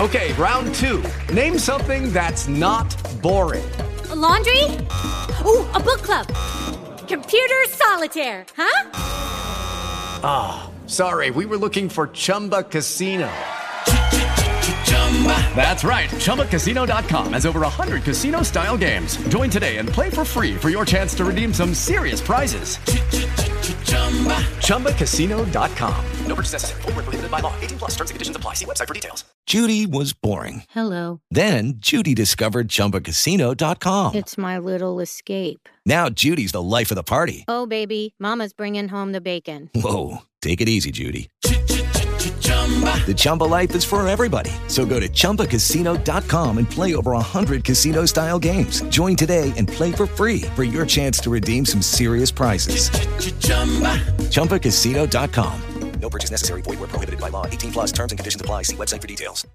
Okay, round two. Name something that's not boring. A laundry? Ooh, a book club. Computer solitaire, huh? Ah, sorry, we were looking for Chumba Casino. That's right, ChumbaCasino.com has over 100 casino-style games. Join today and play for free for your chance to redeem some serious prizes. ChumbaCasino.com. No purchase necessary. Void where prohibited by law. 18 plus terms and conditions apply. See website for details. Judy was boring. Hello. Then Judy discovered ChumbaCasino.com. It's my little escape. Now Judy's the life of the party. Oh, baby, mama's bringing home the bacon. Whoa, take it easy, Judy. The Chumba life is for everybody. So go to ChumbaCasino.com and play over 100 casino-style games. Join today and play for free for your chance to redeem some serious prizes. ChumbaCasino.com. No purchase necessary. Void where prohibited by law. 18 plus terms and conditions apply. See website for details.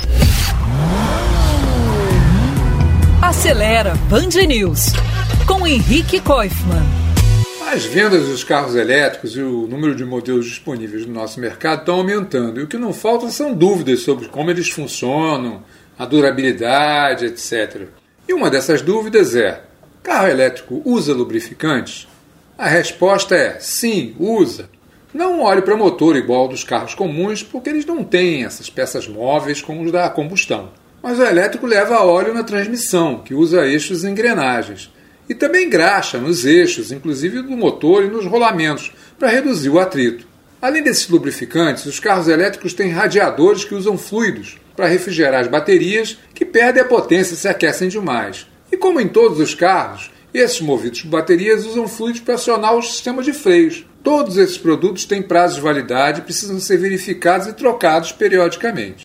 Acelera Band News com Henrique Koifman. As vendas dos carros elétricos e o número de modelos disponíveis no nosso mercado estão aumentando. E o que não falta são dúvidas sobre como eles funcionam, a durabilidade, etc. E uma dessas dúvidas é: carro elétrico usa lubrificantes? A resposta é sim, usa. Não olhe para motor igual ao dos carros comuns, porque eles não têm essas peças móveis como os da combustão. Mas o elétrico leva óleo na transmissão, que usa eixos e engrenagens. E também graxa nos eixos, inclusive do motor e nos rolamentos, para reduzir o atrito. Além desses lubrificantes, os carros elétricos têm radiadores que usam fluidos para refrigerar as baterias, que perdem a potência e se aquecem demais. E como em todos os carros, esses movidos por baterias usam fluidos para acionar o sistema de freios. Todos esses produtos têm prazo de validade e precisam ser verificados e trocados periodicamente.